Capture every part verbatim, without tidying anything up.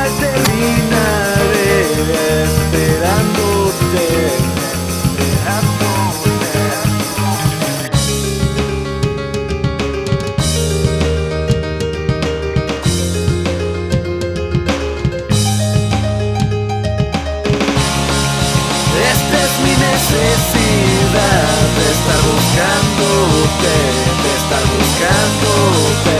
final terminaré esperándote, esperándote. Esta es mi necesidad de estar buscándote, de estar buscándote,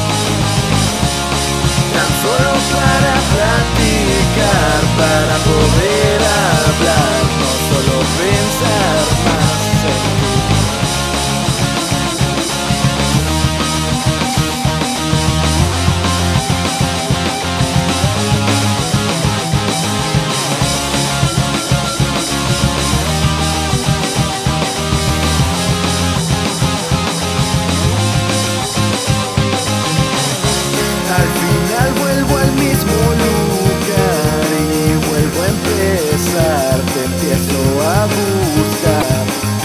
tan solo para platicar, para poder hablar, no solo pensar más en ti. Al final vuelvo al mismo lugar y vuelvo a empezar, te empiezo a buscar.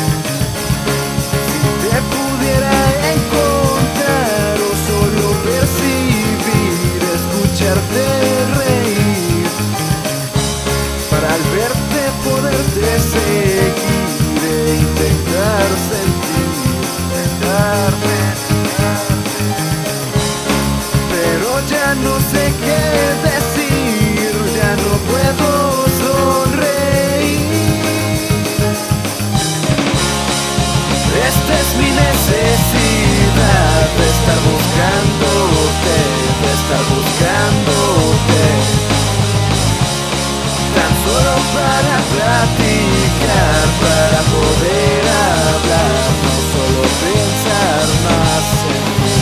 Si te pudiera encontrar o solo percibir, escucharte reír, para al verte poderte seguir e intentar sentir, intentar ya no sé qué decir, ya no puedo sonreír. Esta es mi necesidad de estar buscándote, de estar buscándote, tan solo para platicar, para poder hablar, no solo pensar más en ti.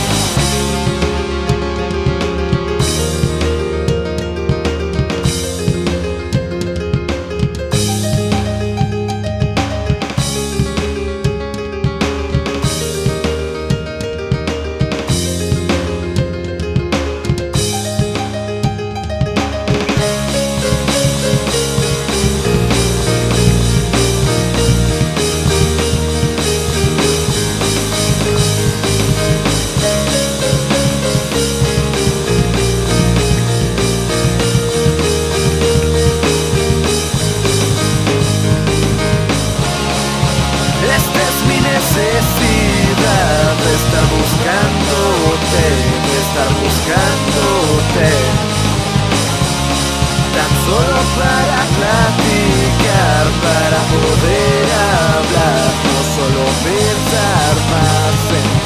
Necesidad de estar buscándote, de estar buscándote, tan solo para platicar, para poder hablar, no solo pensar más en